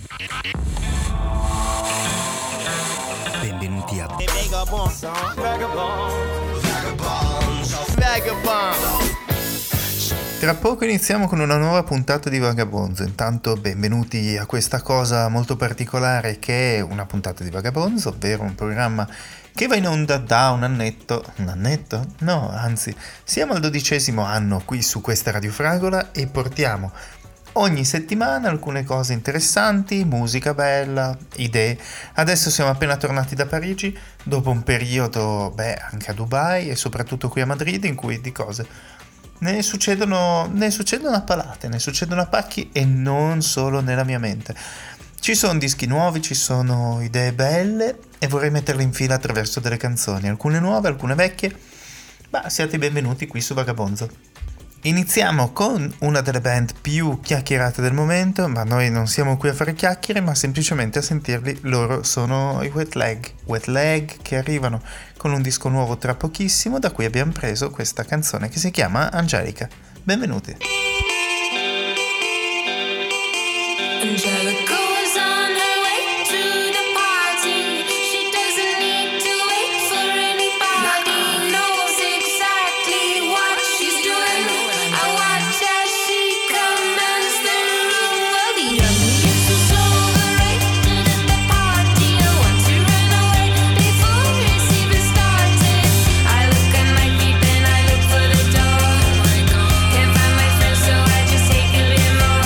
Benvenuti a Tra poco iniziamo con una nuova puntata di Vagabonzo. Intanto benvenuti a questa cosa molto particolare che è una puntata di Vagabonzo, ovvero un programma che va in onda da un annetto? No, anzi, siamo al 12° anno qui su questa Radio Fragola e portiamo ogni settimana alcune cose interessanti, musica bella, idee. Adesso siamo appena tornati da Parigi, dopo un periodo, anche a Dubai e soprattutto qui a Madrid, in cui di cose ne succedono a palate, ne succedono a pacchi e non solo nella mia mente. Ci sono dischi nuovi, ci sono idee belle e vorrei metterle in fila attraverso delle canzoni, alcune nuove, alcune vecchie. Siate benvenuti qui su Vagabonzo. Iniziamo con una delle band più chiacchierate del momento, ma noi non siamo qui a fare chiacchiere, ma semplicemente a sentirli. Loro sono i Wet Leg che arrivano con un disco nuovo tra pochissimo, da cui abbiamo preso questa canzone che si chiama Angelica. Benvenuti. Angelica was on her way to the party. She doesn't need to wait for anybody. Knows exactly what she's doing. I watch as she commands the room. Well, the young is so overrated at the party. I want to run away before it's even started. I look at my feet and I look for the door. Can't find my friends, so I just take a bit more.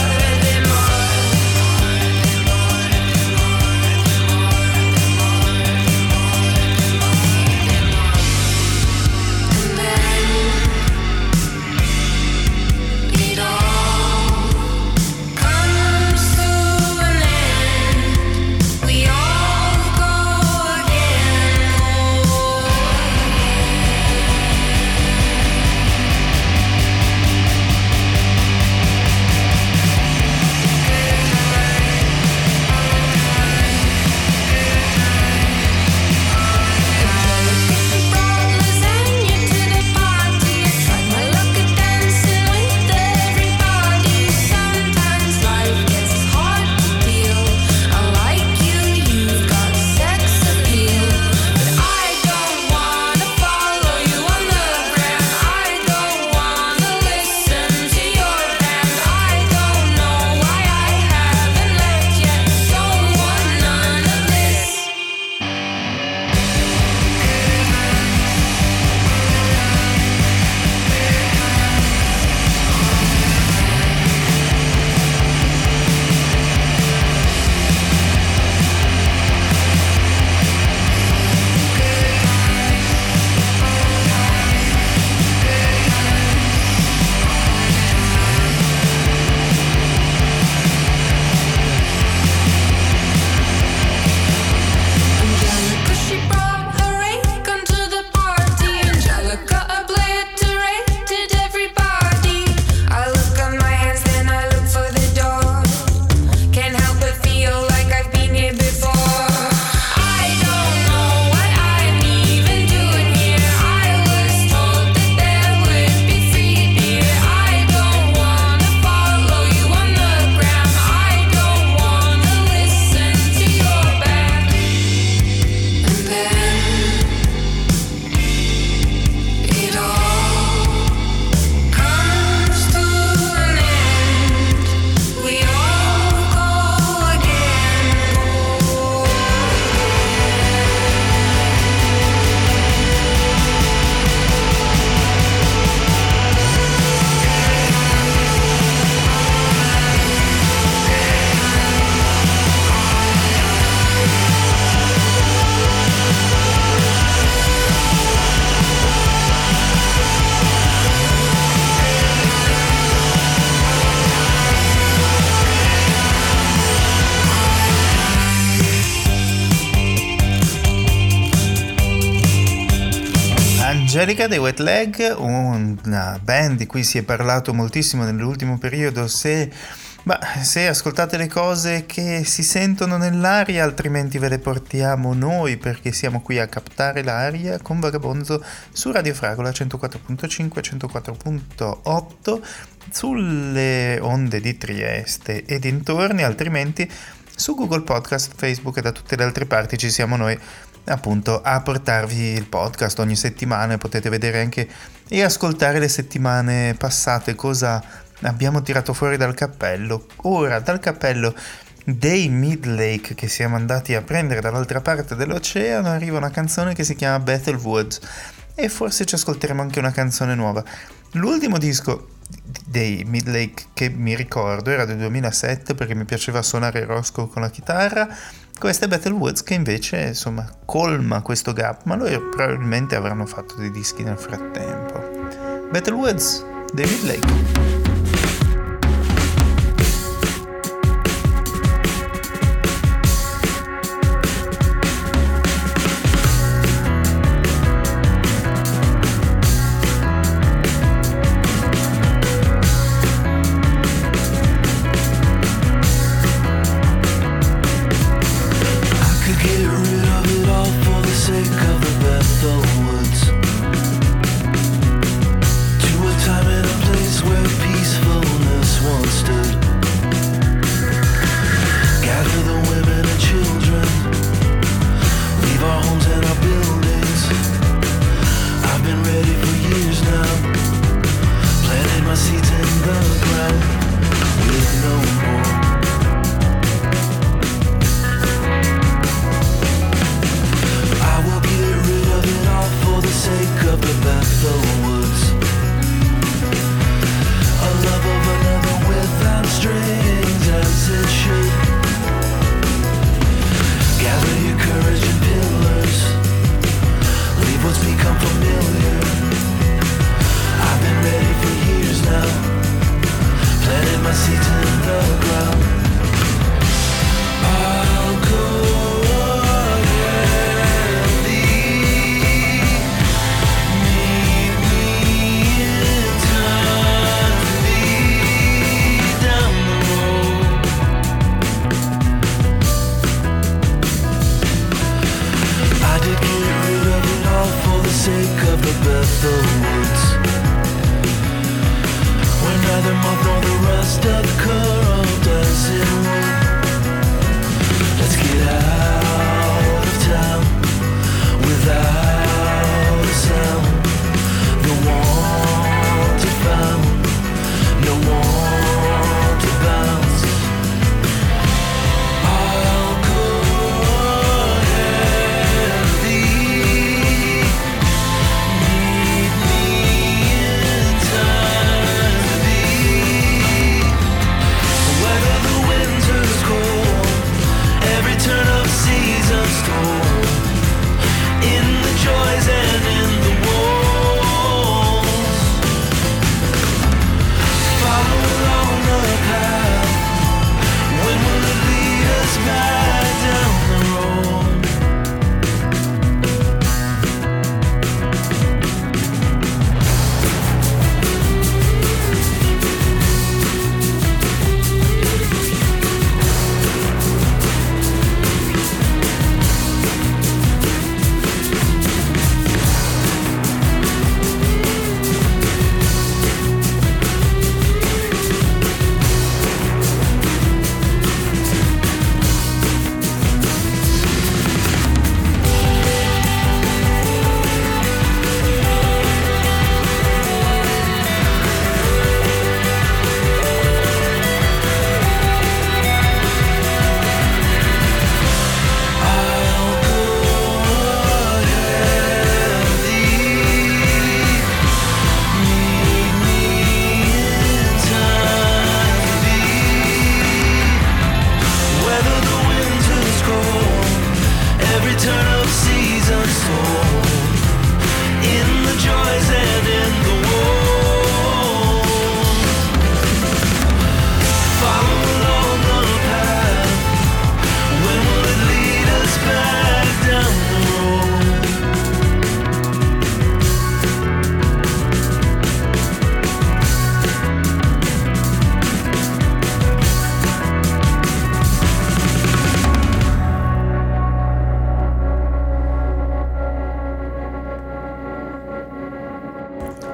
Angelica dei Wet Leg, una band di cui si è parlato moltissimo nell'ultimo periodo. Se ascoltate le cose che si sentono nell'aria, altrimenti ve le portiamo noi, perché siamo qui a captare l'aria con Vagabonzo su Radio Fragola 104.5 104.8 sulle onde di Trieste e dintorni, altrimenti su Google Podcast, Facebook e da tutte le altre parti ci siamo noi appunto a portarvi il podcast ogni settimana, e potete vedere anche e ascoltare le settimane passate cosa abbiamo tirato fuori dal cappello. Ora dal cappello dei Midlake, che siamo andati a prendere dall'altra parte dell'oceano, arriva una canzone che si chiama Bethel Woods, e forse ci ascolteremo anche una canzone nuova. L'ultimo disco dei Midlake che mi ricordo era del 2007, perché mi piaceva suonare Roscoe con la chitarra. Questa è Bethel Woods, che invece insomma colma questo gap, ma loro probabilmente avranno fatto dei dischi nel frattempo. Bethel Woods dei Midlake.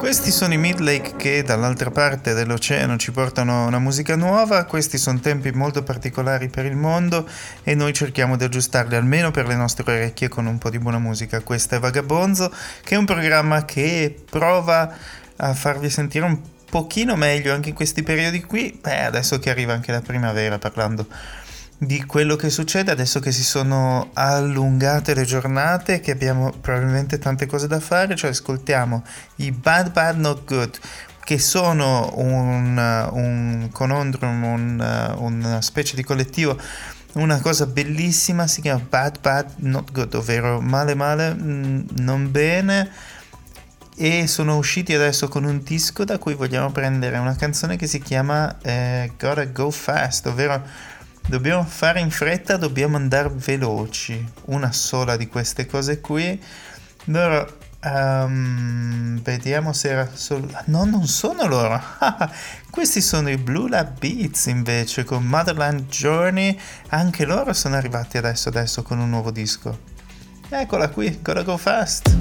Questi sono i Midlake che dall'altra parte dell'oceano ci portano una musica nuova. Questi sono tempi molto particolari per il mondo e noi cerchiamo di aggiustarli almeno per le nostre orecchie con un po' di buona musica. Questa è Vagabonzo, che è un programma che prova a farvi sentire un pochino meglio anche in questi periodi qui. Adesso che arriva anche la primavera, parlando di quello che succede, adesso che si sono allungate le giornate, che abbiamo probabilmente tante cose da fare, cioè ascoltiamo i Bad Bad Not Good, che sono un conundrum, una specie di collettivo, una cosa bellissima, si chiama Bad Bad Not Good, ovvero male male, non bene, e sono usciti adesso con un disco da cui vogliamo prendere una canzone che si chiama Gotta Go Fast, ovvero dobbiamo fare in fretta, dobbiamo andare veloci. Una sola di queste cose qui. Loro vediamo se era solo... No, non sono loro. Questi sono i Blue Lab Beats invece, con Motherland Journey. Anche loro sono arrivati adesso con un nuovo disco. Eccola qui, Gotta Go Fast.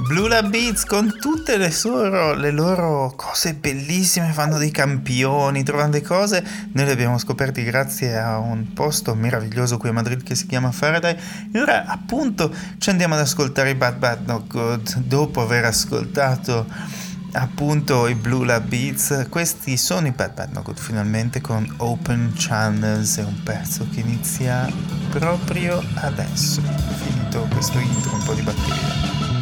Blue Lab Beats con tutte le loro cose bellissime, fanno dei campioni, trovano delle cose. Noi le abbiamo scoperti grazie a un posto meraviglioso qui a Madrid che si chiama Faraday. E ora appunto ci andiamo ad ascoltare i Bad Bad Not Good dopo aver ascoltato appunto i Blue Lab Beats. Questi sono i Bad Bad Not Good finalmente con Open Channels. È un pezzo che inizia proprio adesso, finito questo intro, un po' di batteria.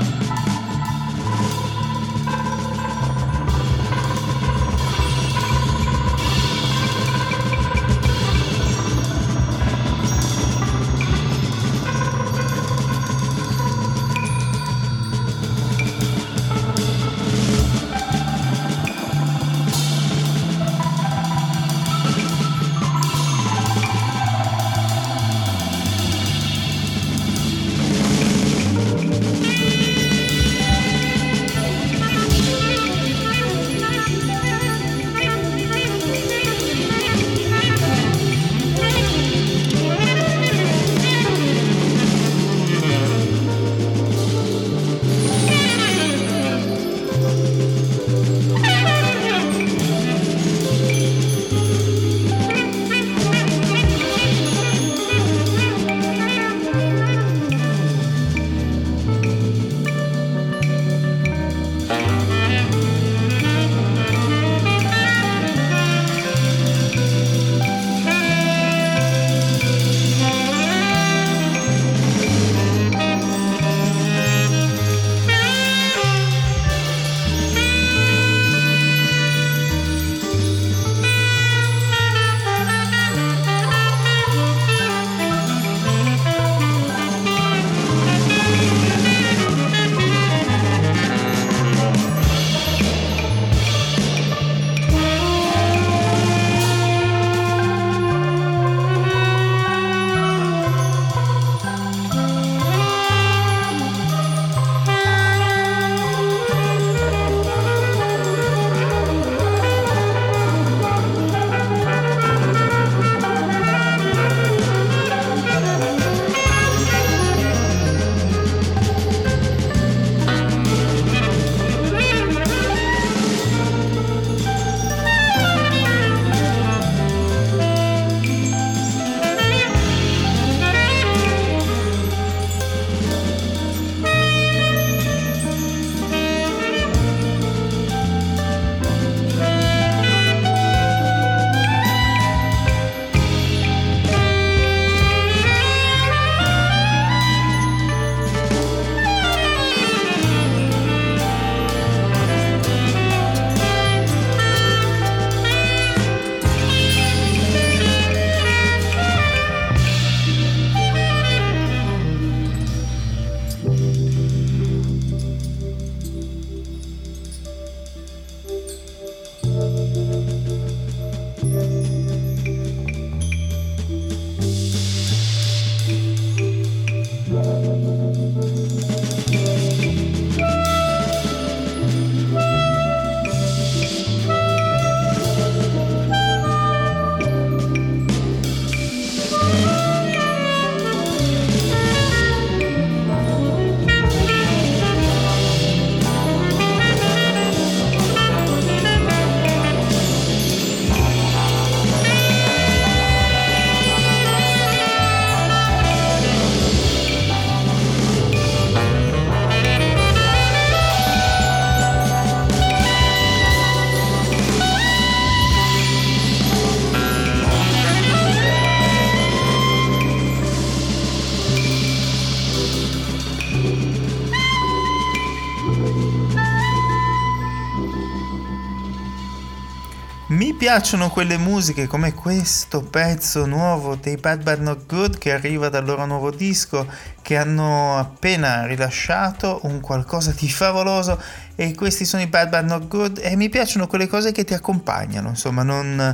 Mi piacciono quelle musiche come questo pezzo nuovo dei Bad Bad Not Good che arriva dal loro nuovo disco che hanno appena rilasciato, un qualcosa di favoloso, e questi sono i Bad Bad Not Good e mi piacciono quelle cose che ti accompagnano, insomma non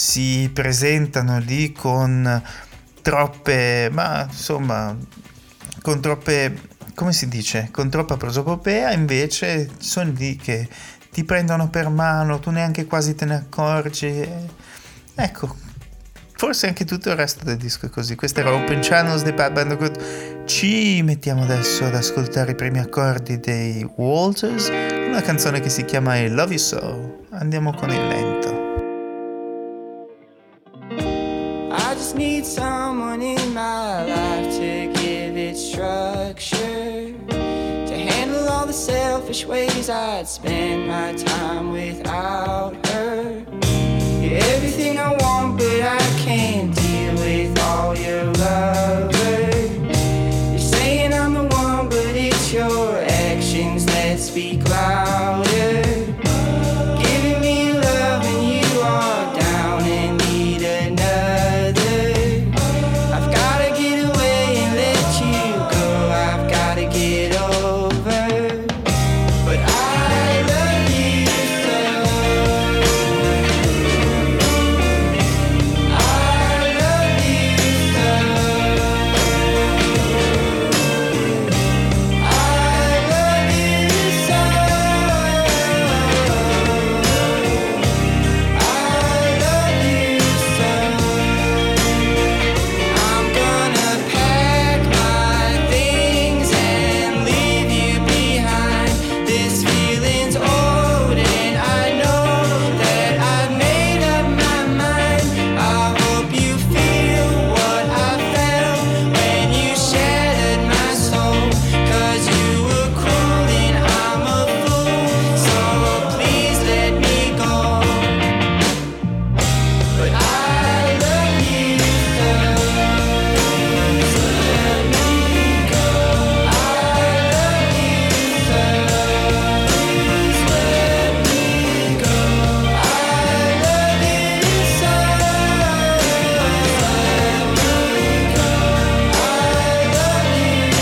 si presentano lì con troppe, ma insomma con troppe, come si dice, con troppa prosopopea, invece sono lì che ti prendono per mano, tu neanche quasi te ne accorgi. Ecco, forse anche tutto il resto del disco è così. Questa era Open Channels dei Bad Bad Not Good. Ci mettiamo adesso ad ascoltare i primi accordi dei Walters, una canzone che si chiama I Love You So. Andiamo con il lento. I just need someone in my life to give it structure, to handle all the selfish ways I'd spend my time without her. You're everything I want, but I can't deal with all your lovers. You're saying I'm the one, but it's your actions that speak louder. Giving me love and you are down and need another. I've gotta get away and let you go. I've gotta get over. But I love you so. I love you so. I love you so. I love you so. I'm gonna pack my things and leave you behind. This feeling's old and I know that I've made up my mind. I hope you feel what I felt when you shattered my soul. 'Cause you were cruel and I'm a fool, so please let me go. But I love you so. So let me go. I love you so. Please let me go. I love you so. Let me go. I love you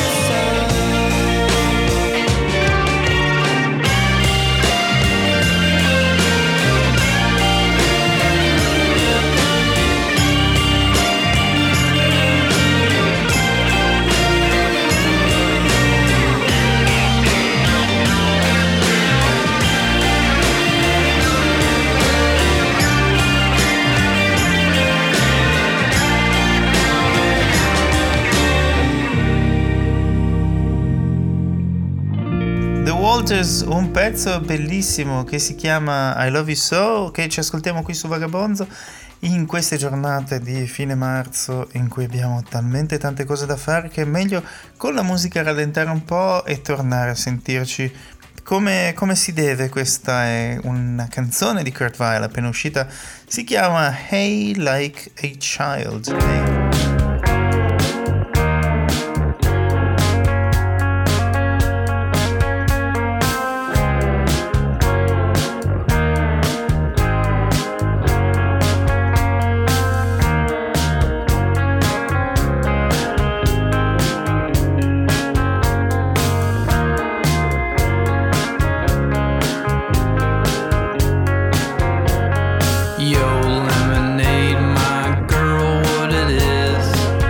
The Walters, un pezzo bellissimo che si chiama I Love You So, che ci ascoltiamo qui su Vagabonzo in queste giornate di fine marzo in cui abbiamo talmente tante cose da fare che è meglio con la musica rallentare un po' e tornare a sentirci come si deve. Questa è una canzone di Kurt Weill appena uscita, si chiama Hey Like a Child. Hey. Yo, lemonade, my girl, what it is.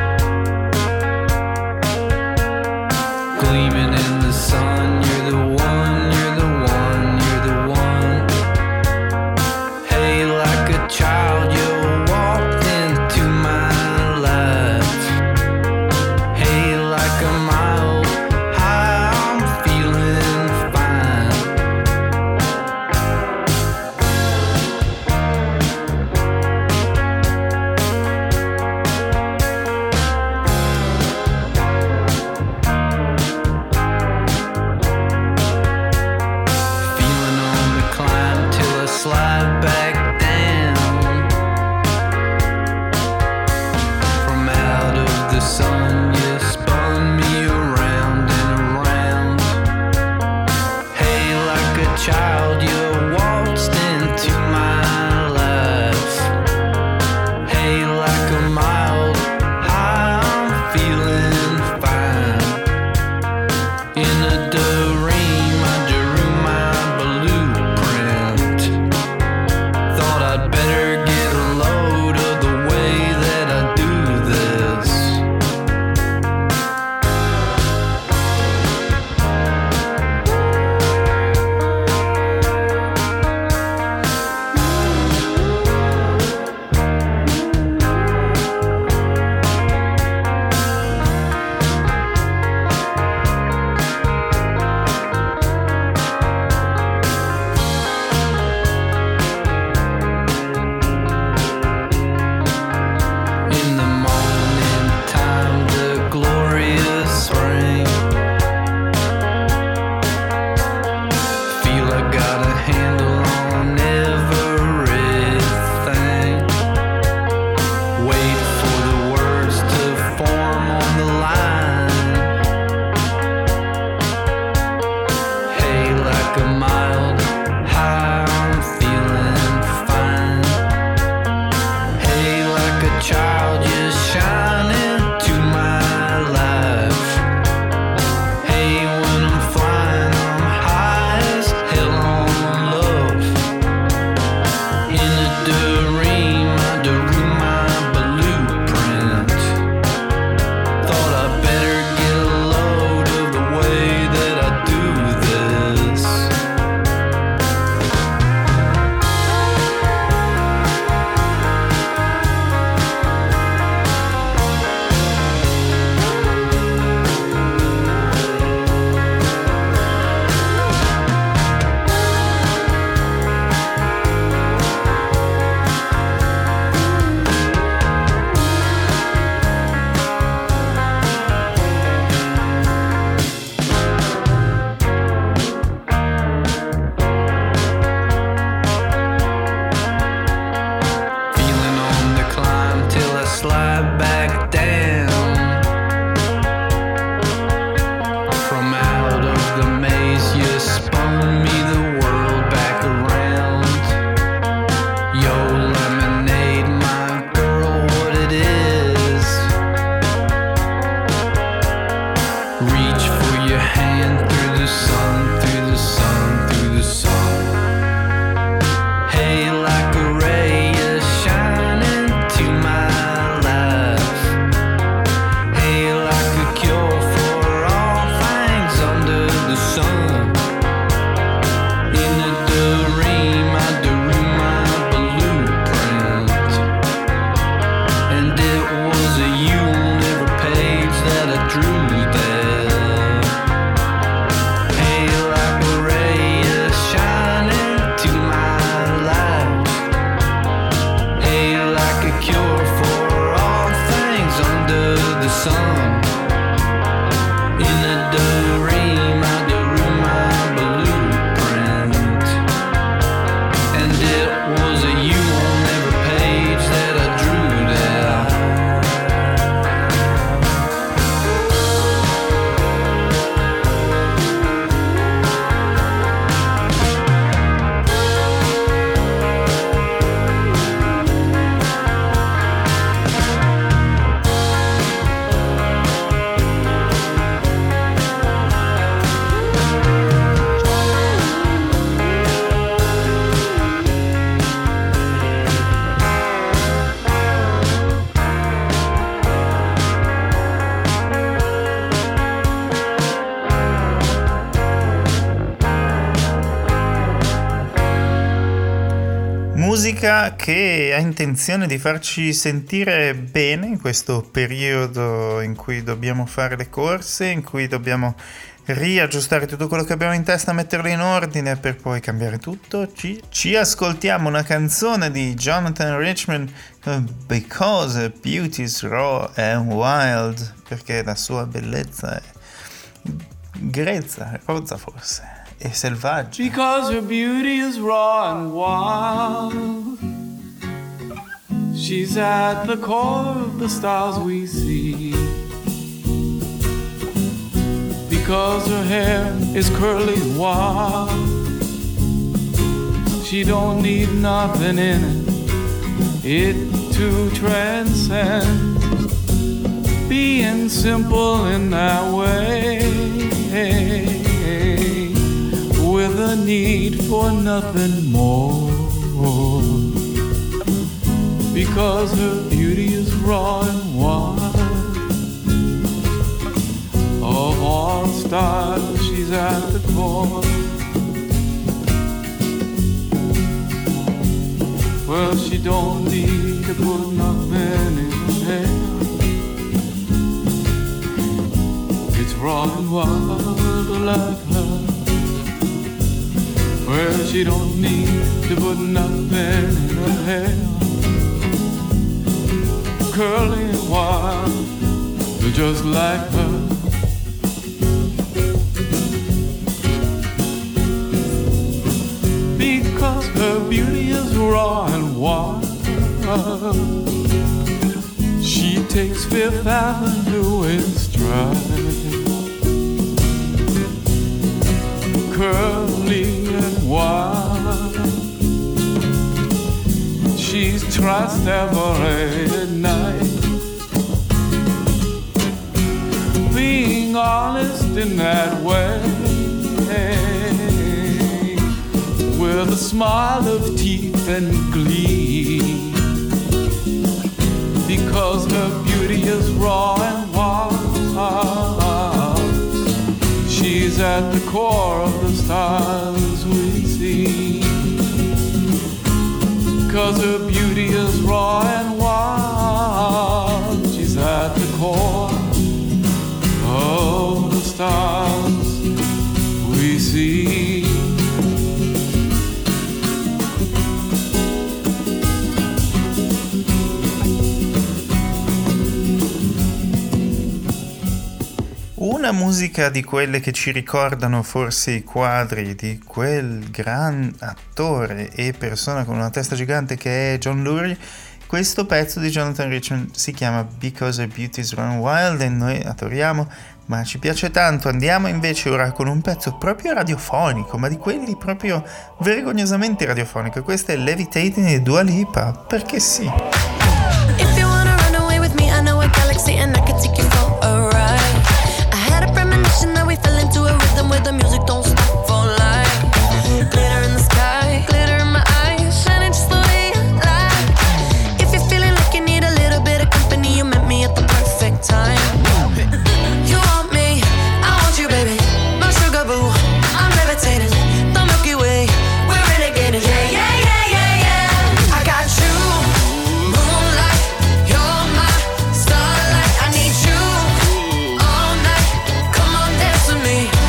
Gleaming in the sun, you're the one, you're the one, you're the one. Hey, like a child, you walked into my life. Hey, like a mile high, I'm feeling fine. musica che ha intenzione di farci sentire bene in questo periodo in cui dobbiamo fare le corse, in cui dobbiamo riaggiustare tutto quello che abbiamo in testa, metterlo in ordine per poi cambiare tutto. Ci ascoltiamo una canzone di Jonathan Richman, Because Beauty is Raw and Wild, perché la sua bellezza è grezza, rozza forse, e selvaggia. Because her beauty is raw and wild, she's at the core of the stars we see. Because her hair is curly wild, she don't need nothing in it to transcend. Being simple in that way, with a need for nothing more. Because her beauty is raw and wild, of all stars she's at the core. Well, she don't need to put nothing in her hair. It's raw and wild like her. Well, she don't need to put nothing in her hair. Curly and wild, just like her. Because her beauty is raw and wild, she takes Fifth Avenue in stride. Curly and wild, she's trust every night. Being honest in that way, with a smile of teeth and glee. Because her beauty is raw and wild, she's at the core of the stars we see. Because her beauty is raw and wild, she's at the core of the stars we see. Una musica di quelle che ci ricordano forse i quadri di quel gran attore e persona con una testa gigante che è John Lurie. Questo pezzo di Jonathan Richman si chiama Because Her Beauty is Run Wild e noi adoriamo, ma ci piace tanto. Andiamo invece ora con un pezzo proprio radiofonico, ma di quelli proprio vergognosamente radiofonico. Questo è Levitating di Dua Lipa, perché sì. If you wanna run away with me, I know a galaxy and I can take you for a ride. I had a premonition that we fell into a rhythm where the music don't stop for life. Glitter in the sky, glitter in my eyes, shining just the way I like. If you're feeling like you need a little bit of company, you met me at the perfect time. You want me, I want you, baby. My sugar boo, I'm levitating. The Milky Way, we're renegading. Yeah, yeah, yeah, yeah, yeah. I got you, moonlight. You're my starlight. I need you all night. Come on, dance with me.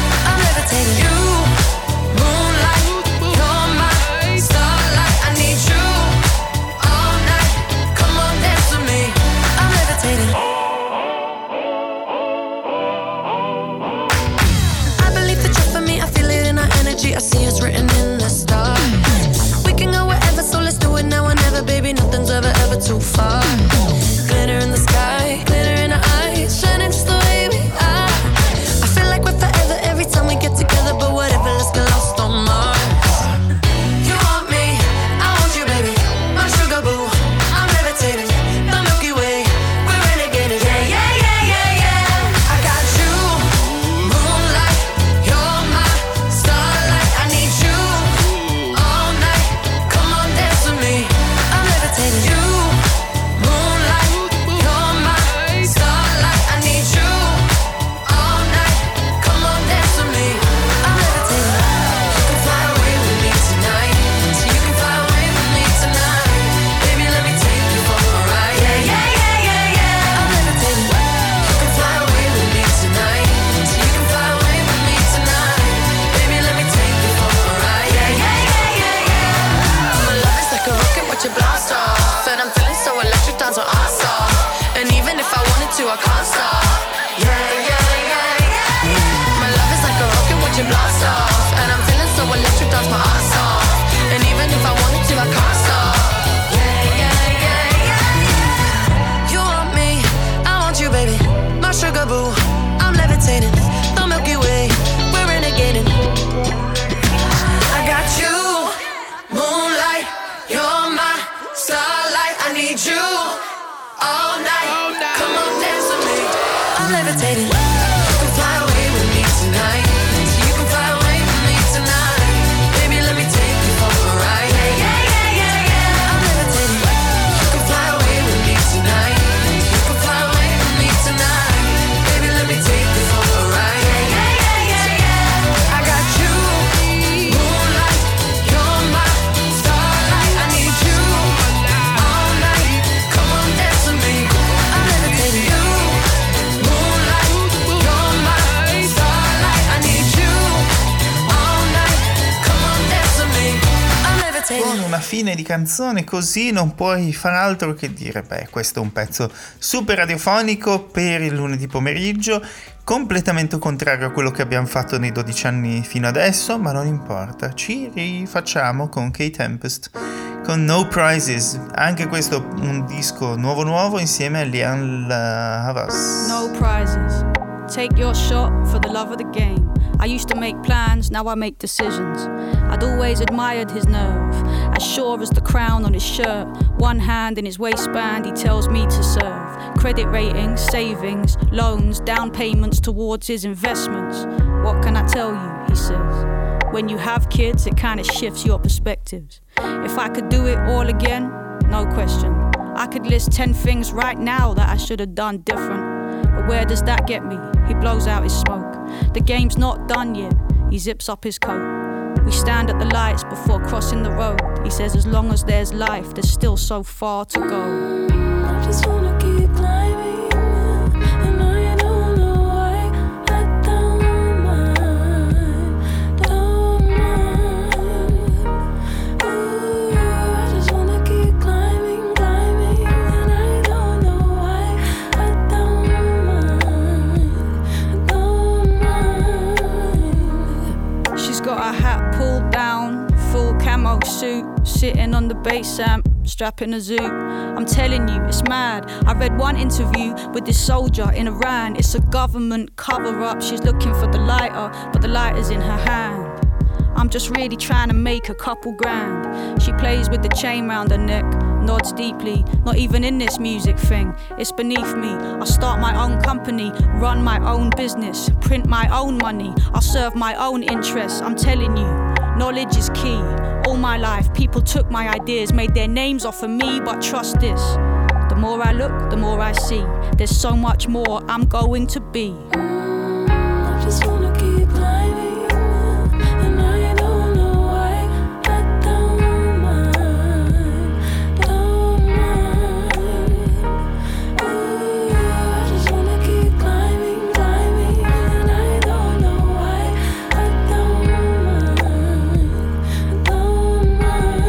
I can't stop. Yeah, yeah, yeah, yeah. My love is like a rocket watching blast off, and I'm feeling so electric, dance my ass off. And even if I wanted to, I can't stop. Yeah, yeah, yeah, yeah. You want me, I want you, baby. My sugar boo, I'm levitating. The Milky Way, we're renegading. I got you, moonlight, you're my starlight. I need you all night. Come on, dance with me. I'm levitating. You can fly away with me tonight. You can fly away with me tonight. Baby, let me take you for a ride. Yeah, yeah, yeah, yeah, yeah. I'm levitating. You can fly away with me tonight. You can fly away with me tonight. Baby, let me take you for a ride. Yeah, yeah, yeah, yeah, yeah. I got you, moonlight, you're my starlight. I need you all night. Come on, dance with me. I'm levitating. You, moonlight, you're my starlight. I need you all night. Come on, dance with me. I'm levitating. Con una fine di canzone così non puoi far altro che dire, beh, questo è un pezzo super radiofonico per il lunedì pomeriggio, completamente contrario a quello che abbiamo fatto nei 12 anni fino adesso, ma non importa, ci rifacciamo con Kate Tempest, con No Prizes, anche questo un disco nuovo insieme a Lian Havas. No prizes. Take your shot for the love of the game. I used to make plans, now I make decisions. I'd always admired his nerve, as sure as the crown on his shirt. One hand in his waistband, he tells me to serve. Credit ratings, savings, loans, down payments towards his investments. What can I tell you, he says. When you have kids, it kind of shifts your perspectives. If I could do it all again, no question. I could list 10 things right now that I should have done different. But where does that get me? He blows out his smoke. The game's not done yet. He zips up his coat. We stand at the lights before crossing the road. He says as long as there's life, there's still so far to go. I just wanna keep climbing, and I don't know why. I don't mind, don't mind. Ooh, I just wanna keep climbing, climbing, and I don't know why. I don't mind. She's got her hat pulled down, full camo suit, sitting on the bass amp, strapping a zoot. I'm telling you, it's mad. I read one interview with this soldier in Iran. It's a government cover-up. She's looking for the lighter, but the lighter's in her hand. I'm just really trying to make a couple grand. She plays with the chain round her neck, nods deeply. Not even in this music thing, it's beneath me. I'll start my own company, run my own business, print my own money. I'll serve my own interests. I'm telling you, knowledge is key. All my life, people took my ideas, made their names off of me, but trust this. The more I look, the more I see. There's so much more I'm going to be. I just wanna keep climbing, and I don't know why. I don't mind, don't mind. Ooh, I just wanna keep climbing, climbing, and I don't know why. I don't mind, don't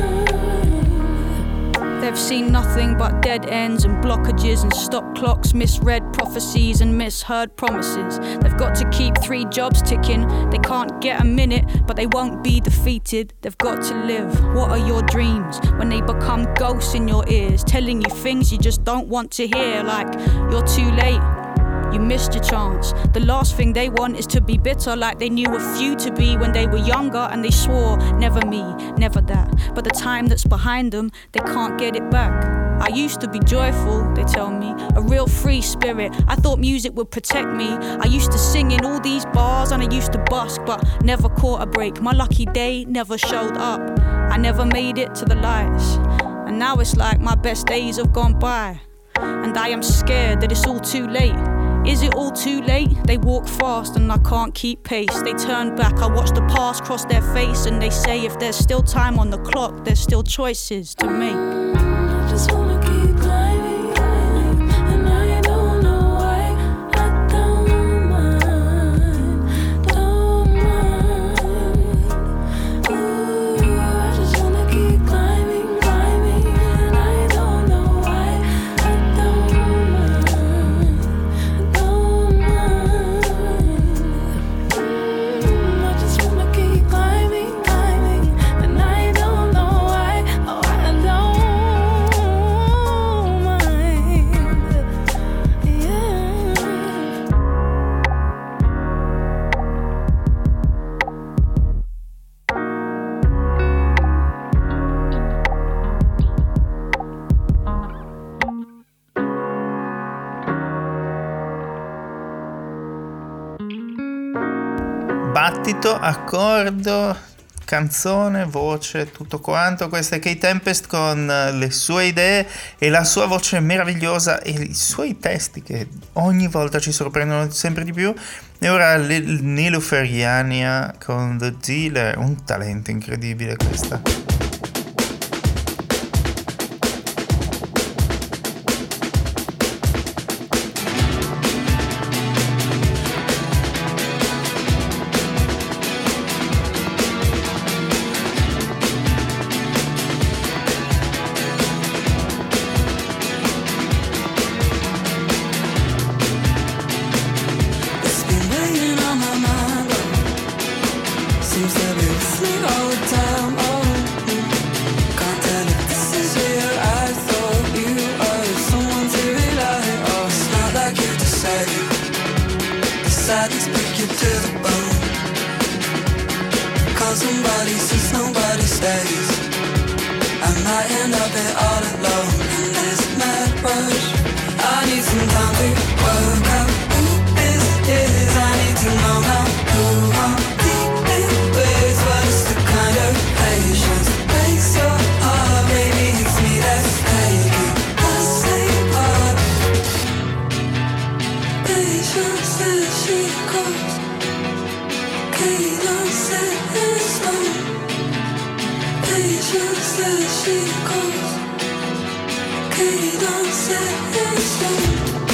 mind. They've seen nothing but dead ends and blockages and stop clocks, misread prophecies and misheard promises. They've got to keep 3 jobs ticking. They can't get a minute, but they won't be defeated. They've got to live. What are your dreams when they become ghosts in your ears, telling you things you just don't want to hear, like you're too late, you missed your chance. The last thing they want is to be bitter, like they knew a few to be when they were younger and they swore, never me, never that. But the time that's behind them, they can't get it back. I used to be joyful, they tell me, a real free spirit. I thought music would protect me. I used to sing in all these bars and I used to busk, but never caught a break. My lucky day never showed up. I never made it to the lights, and now it's like my best days have gone by, and I am scared that it's all too late. Is it all too late? They walk fast and I can't keep pace. They turn back, I watch the past cross their face, and they say if there's still time on the clock, there's still choices to make. I just wanna keep climbing, climbing, and I don't know why. I don't mind, don't mind. Ooh, I just wanna keep climbing, climbing, and I don't know why. I don't mind, battito, accordo, canzone, voce, tutto quanto. Questa è Kate Tempest con le sue idee e la sua voce meravigliosa e i suoi testi che ogni volta ci sorprendono sempre di più. E ora Nilüfer con The Dealer, un talento incredibile questa. It's been weighing on my mind, oh. Seems to be with me all the time, oh. Can't tell if this is real. I thought you were someone to rely on. It's not like you decided to break you to the bone. Cause somebody says nobody stays. I might end up here all alone in this mad rush. I need some time to work out who this is. I need to know now who I'm dealing with. But it's the kind of patience that breaks your heart. Maybe it's me that's taking the same part. Patience as she goes. Cadence in stone. Patience as she goes. Cadence in stone.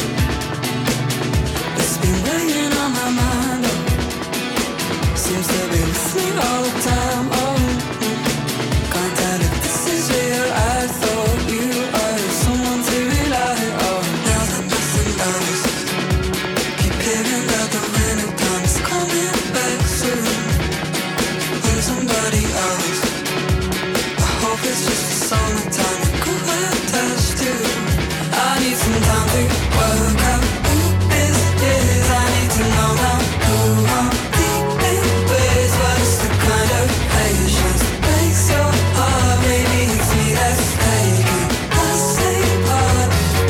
It's been weighing on my mind, oh. Seems to be with me all the time, oh. Can't tell if this is real. I thought you were someone to rely on. Now that nothing else, keep hearing that the winter comes coming back soon. On somebody else, I hope it's just the summertime you go attached to. I need some time to work out who this is. I need to know now who I'm dealing with. But it's the kind of patience that breaks your heart. Maybe it's me that's taking the same part.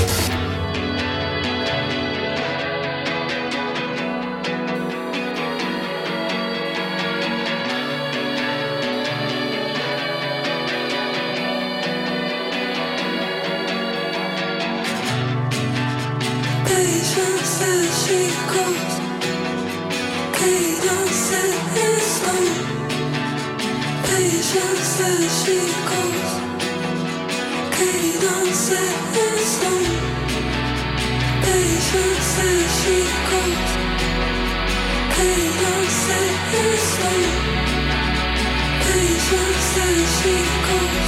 Patience as she goes. Cadence in stone. Patience as she goes. Cadence in stone. Patience as she goes. Cadence in stone. Patience as she goes.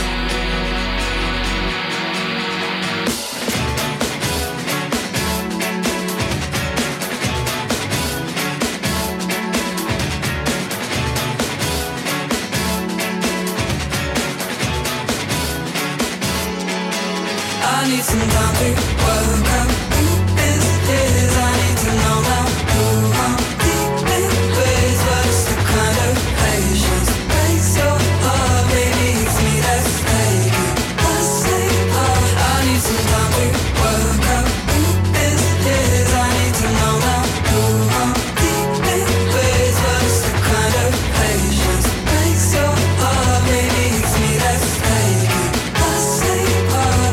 I need some time to work out who this is. I need to know now who I'm dealing with. But it's the kind of patience that breaks your heart. Maybe it's me that's taking the same part. I need some time to work out who this is. I need to know now who I'm dealing with. But it's the kind of patience that breaks your heart. Maybe it's me that's taking the same part.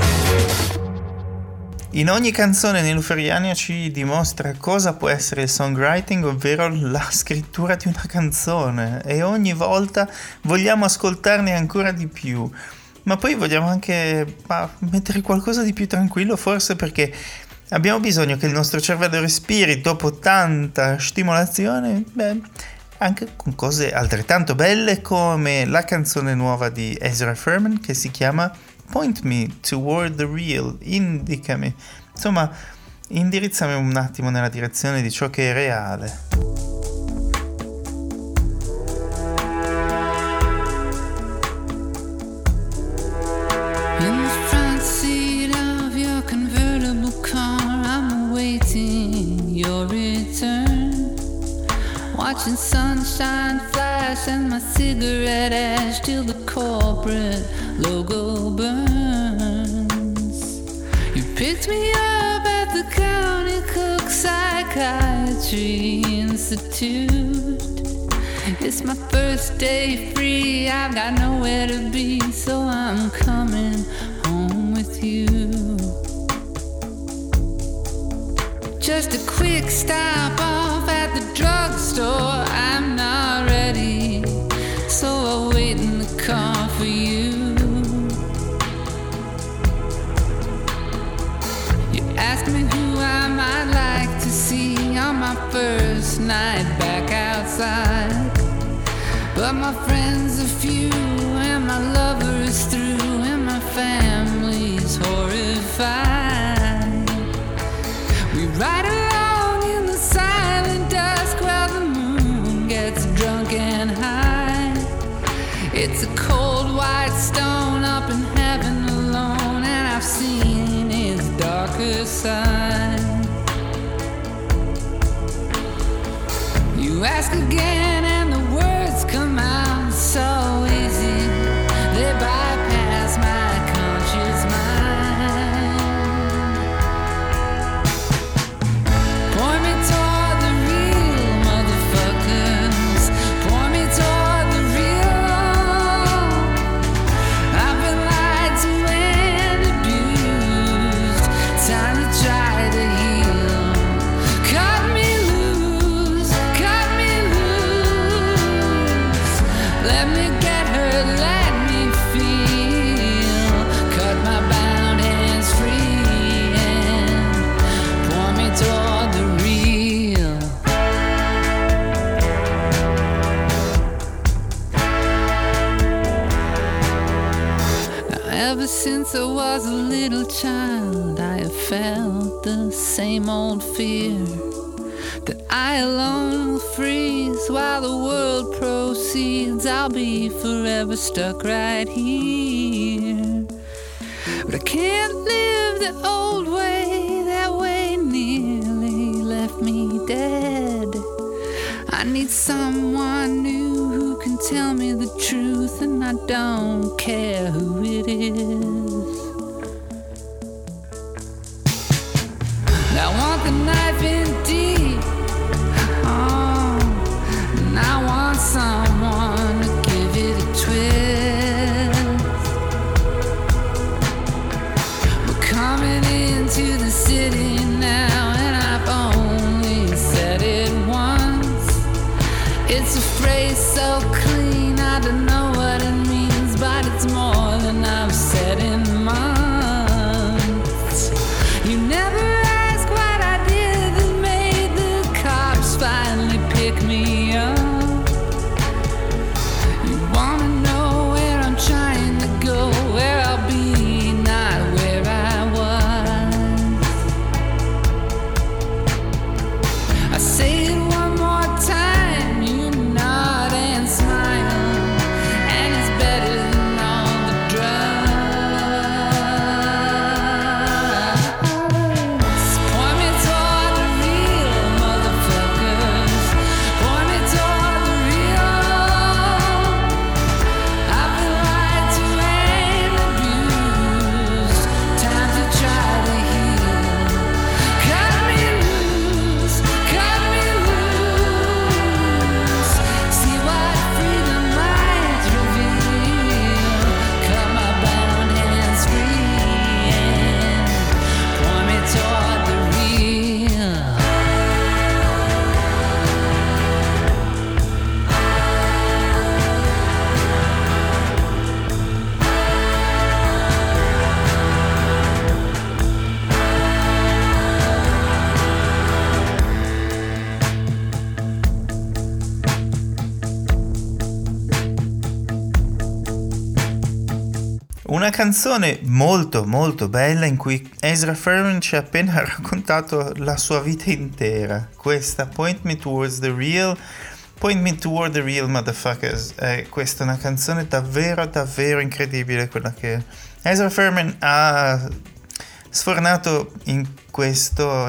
In ogni canzone Nilüfer ci dimostra cosa può essere il songwriting, ovvero la scrittura di una canzone, e ogni volta vogliamo ascoltarne ancora di più, ma poi vogliamo anche mettere qualcosa di più tranquillo, forse perché abbiamo bisogno che il nostro cervello respiri dopo tanta stimolazione, anche con cose altrettanto belle come la canzone nuova di Ezra Furman che si chiama Point Me Toward the Real, indicami, insomma, indirizzami un attimo nella direzione di ciò che è reale. In the front seat of your convertible car, I'm awaiting your return. Watching sunshine flash and my cigarette ash till the corporate logo burns. You picked me up at the County Cook Psychiatry Institute. It's my first day free, I've got nowhere to be, so I'm coming home with you. Just a quick stop off at the drugstore, I'm not ready, so I'll wait in the car for you. You asked me who I might like to see on my first night back outside, but my friends are few and my lover is through and my family's horrified. We ride along in the silent dusk while the moon gets drunk and high. It's a cold white stone up in heaven alone, and I've seen its darker side. You ask again and the words come out so easy, they bypass my conscious mind. Point me toward the real, motherfuckers. Point me toward the real. I've been lied to and abused. Time to try to heal. Cut me loose, cut me loose. Let me get hurt, let me feel. Cut my bound hands free and point me toward the real. Now, ever since I was a little child, I have felt the same old fear that I alone will freeze while the world proceeds. I'll be forever stuck right here. But I can't live the old way, that way nearly left me dead. I need someone new who can tell me the truth, and I don't care who it is. I want the knife in deep. Oh, and I want someone to give it a twist. We're coming into the city now, and I've only said it once. It's a phrase so clean, I don't know what it means, but it's more than I've said in months. You never ask what I did that made the cops finally pick me up. You wanna know where I'm trying to go, where I'll be, not where I was. I say it one more time, you nod and smile, and it's better than all the drugs. Point me toward the real, motherfuckers. Point me toward the real. I've been lied to and abused. Time to try to heal. Cut me loose, cut me loose. See what freedom might reveal. Cut my bound hands free and point me toward the real. Una canzone molto molto bella in cui Ezra Furman ci ha appena raccontato la sua vita intera. Questa Point Me Towards the Real, Point Me Toward the Real Motherfuckers. Questa è una canzone davvero davvero incredibile, quella che Ezra Furman ha sfornato in questo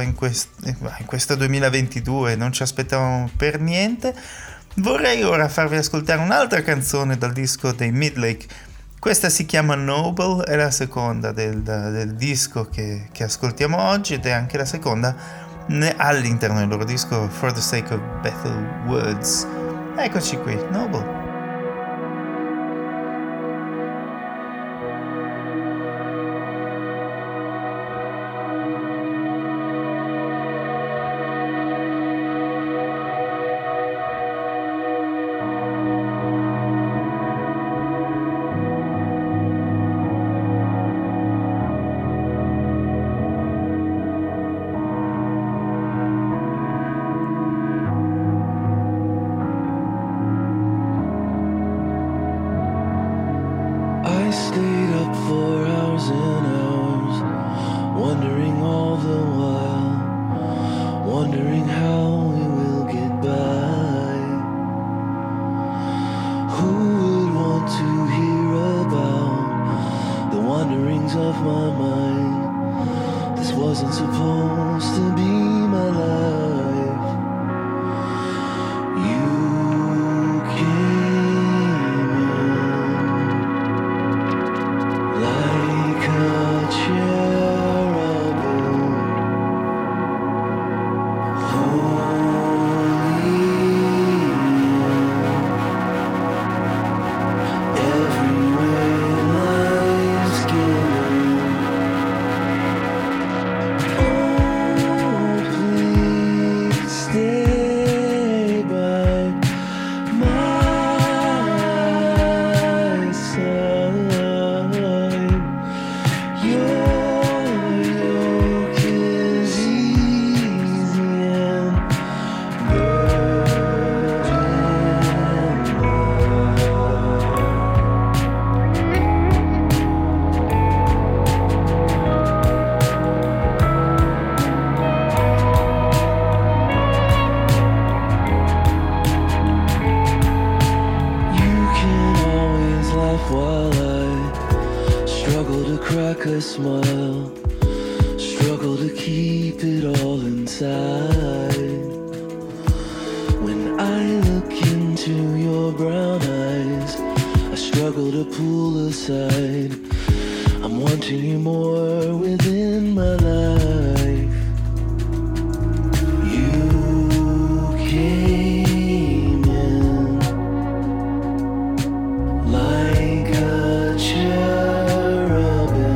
2022, non ci aspettavamo per niente. Vorrei ora farvi ascoltare un'altra canzone dal disco dei Midlake. Questa si chiama Noble, è la seconda del disco che ascoltiamo oggi, ed è anche la seconda all'interno del loro disco For the Sake of Bethel Woods. Eccoci qui, Noble. I stayed up for hours and hours, wondering all the while, wondering how we will get by. Who would want to hear about the wanderings of my mind? This wasn't supposed to be my life. You came in like a cherubim, holy, every way life's given. Oh, please stay by my side. Your yoke is easy and burden You can always laugh while I struggle to crack a smile, struggle to keep it all inside. When I look into your brown eyes, I struggle to pull aside. I'm wanting you more within my life. You came in like a cherubim,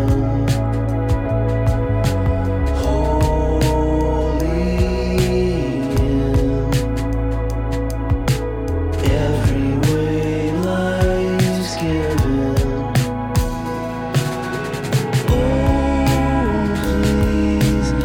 holy in every way life's given. Oh, please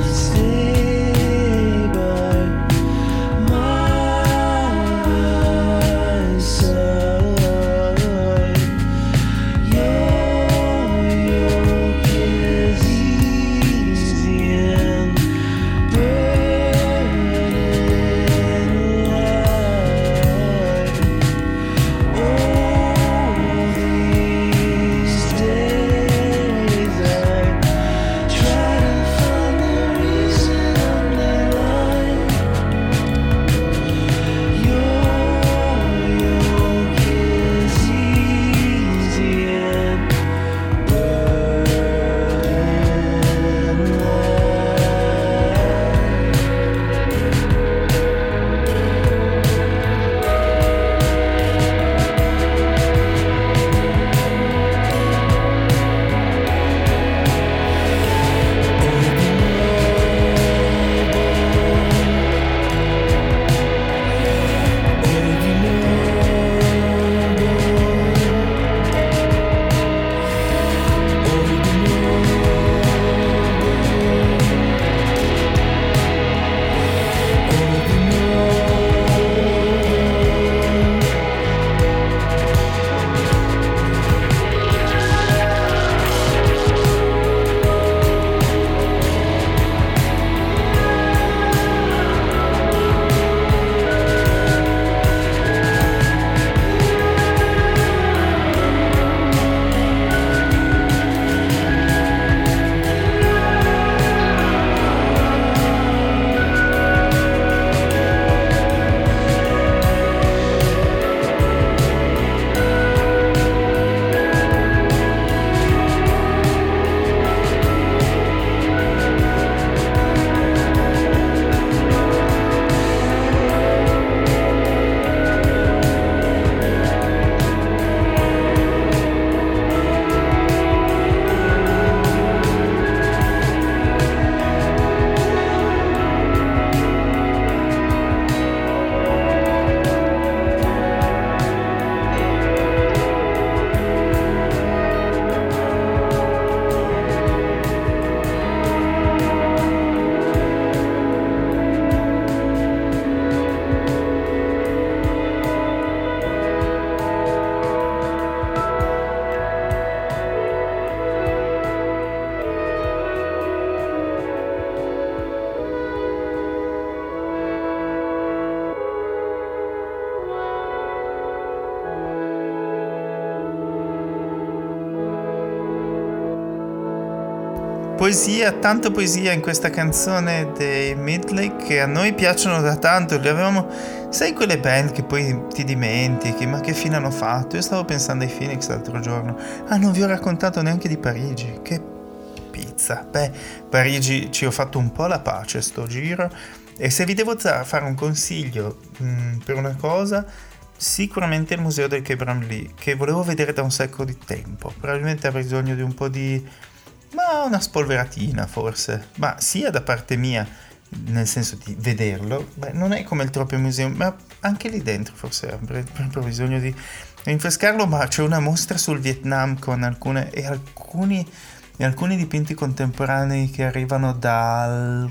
poesia, tanta poesia in questa canzone dei Midlake che a noi piacciono da tanto. Li avevamo, sai, quelle band che poi ti dimentichi, ma che fine hanno fatto? Io stavo pensando ai Phoenix l'altro giorno. Ah, non vi ho raccontato neanche di Parigi. Che pizza. Beh, Parigi ci ho fatto un po' la pace sto giro. E se vi devo fare un consiglio per una cosa, sicuramente il museo del Quai Branly, che volevo vedere da un sacco di tempo. Probabilmente avrei bisogno di un po' di... ma una spolveratina forse, ma sia da parte mia, nel senso di vederlo. Beh, non è come il Tropenmuseum, ma anche lì dentro forse avrei proprio bisogno di rinfrescarlo. Ma c'è una mostra sul Vietnam con alcuni dipinti contemporanei che arrivano dal...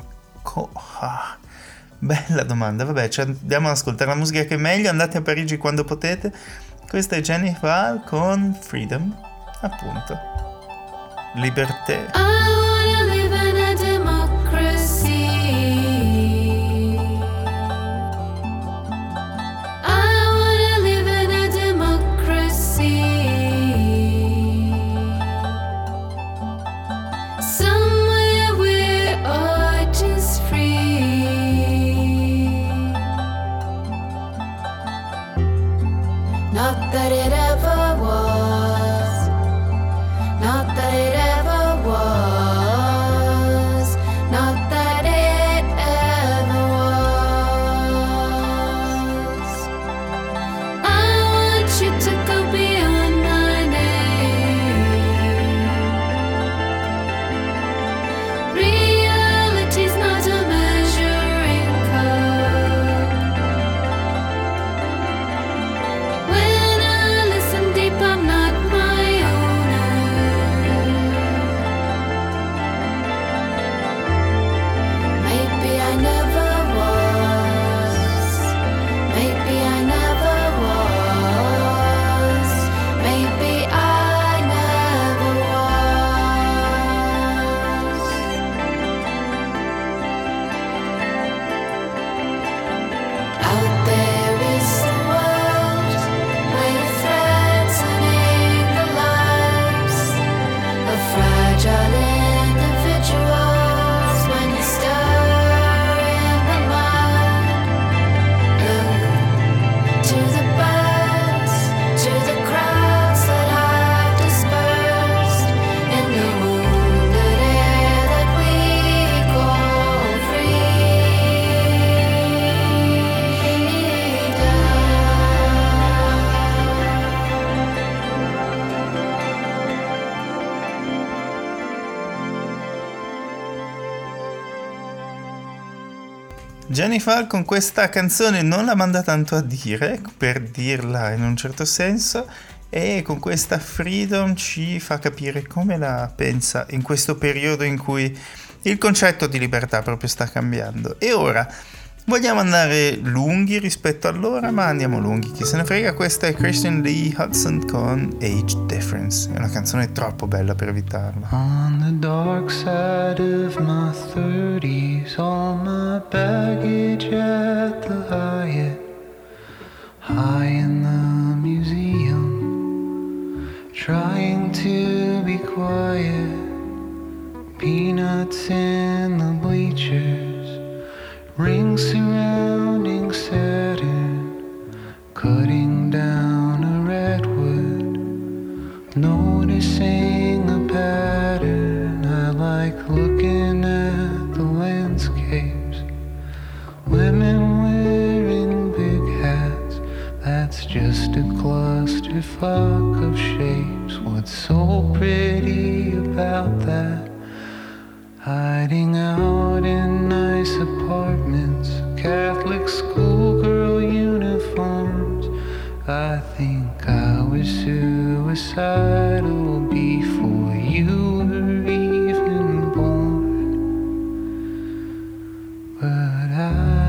bella domanda. Vabbè, andiamo ad ascoltare la musica che è meglio. Andate a Parigi quando potete. Questa è Jenny Val con Freedom, appunto, libertà. I wanna live in a democracy. I wanna live in a democracy. Somewhere we're all just free. Not that it ever was. Not that it ever was. Not that it ever was. I want you to go beyond my name. Reality's not a measuring cup. When I listen deep, I'm not my owner. Maybe I never was. Maybe I never was. Maybe I never was. Out there is the world where you're threatening the lives of fragile individuals when you stir in the mud. Look to the birds, to the crowds that have dispersed in the wounded air that we call Jennifer con questa canzone non la manda tanto a dire, per dirla in un certo senso, e con questa Freedom ci fa capire come la pensa in questo periodo in cui il concetto di libertà proprio sta cambiando. E ora vogliamo andare lunghi rispetto all'ora, ma andiamo lunghi, chi se ne frega. Questa è Christian Lee Hudson con Age Difference, è una canzone troppo bella per evitarla. On the dark side of my 30s, all my baggage at the Hyatt, high in the museum, trying to be quiet, peanuts in the bleachers, rings surrounding Saturn, cutting down a redwood, noticing a pattern. I like looking at the landscapes, women wearing big hats, that's just a clusterfuck of shapes. What's so pretty about that? Hiding out in nice apartments, Catholic schoolgirl uniforms. I think I was suicidal before you were even born. But I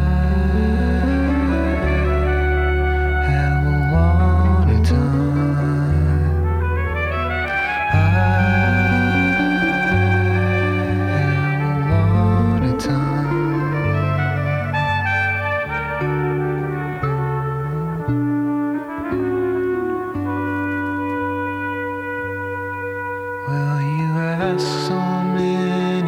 have a lot of time. I have a lot of time. Well, you ask so many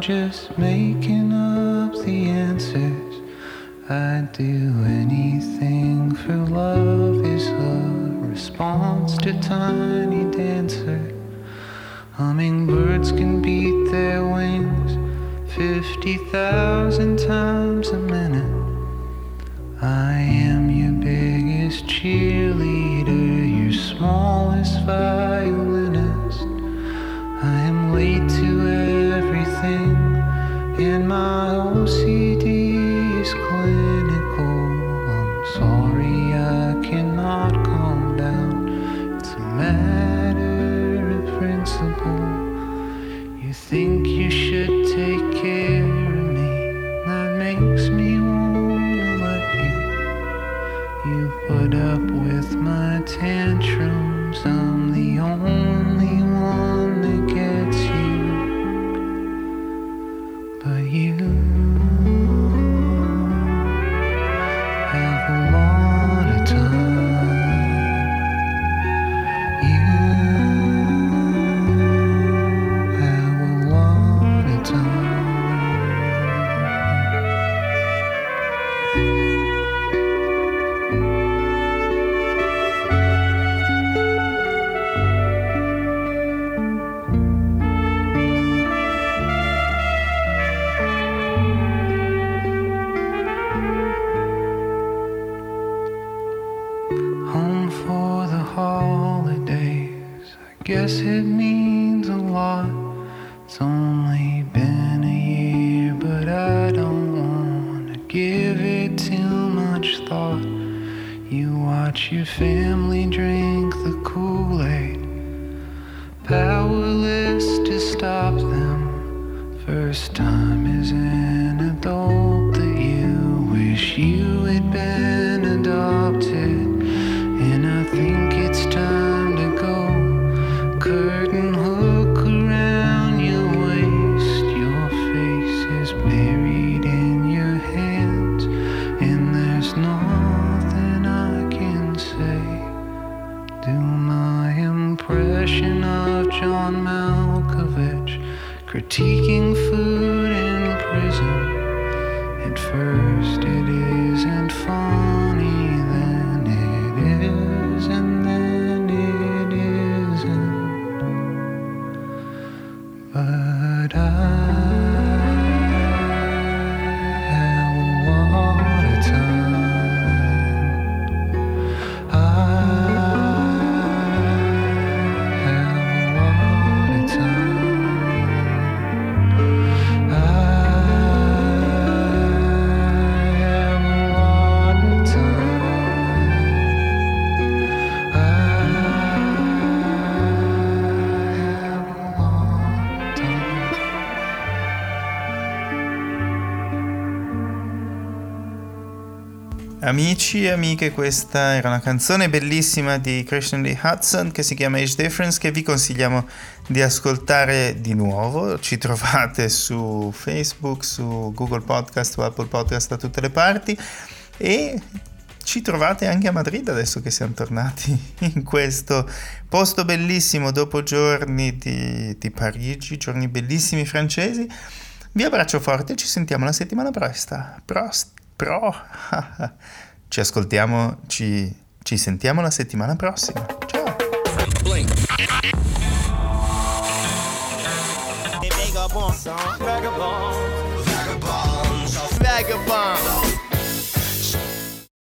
just making up the answers. I'd do anything for love is a response to Tiny Dancer. Hummingbirds can beat their wings 50,000 times a minute. I am your biggest cheerleader, your smallest violinist. I am late to everything, and my OCD is clinical. I'm sorry I cannot calm down. It's a matter of principle. You think you should take care of me, that makes me wanna let you. You put up with my tantrums, I'm the only one that gets you. But you have a lot of time. You have a lot of time. Home for the holidays, I guess it means a lot. It's only been a year, but I don't wanna give it too much thought. You watch your family drink the Kool-Aid, powerless to stop them. First time as an adult that you wish you had been adopted. And I think it's time to go. Curtain hook around your waist. Your face is buried in your hands, and there's nothing I can say. Do my impression of John Malkovich, critiquing food in prison. At first it isn't funny, then it is, and then it isn't. But I have a lot of time. I have a lot of time. I have a lot of time. I have a lot of time. Amici e amiche, questa era una canzone bellissima di Christian Lee Hudson che si chiama Age Difference, che vi consigliamo di ascoltare di nuovo. Ci trovate su Facebook, su Google Podcast, su Apple Podcast, da tutte le parti, e ci trovate anche a Madrid adesso che siamo tornati in questo posto bellissimo dopo giorni di Parigi, giorni bellissimi francesi. Vi abbraccio forte, ci sentiamo la settimana ci ascoltiamo, ci sentiamo la settimana prossima. Ciao. Vagabond.